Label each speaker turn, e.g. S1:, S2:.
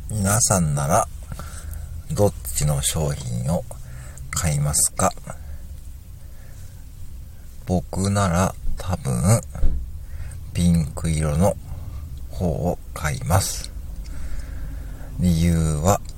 S1: 皆さんならどっちの商品を買いますか？僕なら多分ピンク色の方を買います。理由は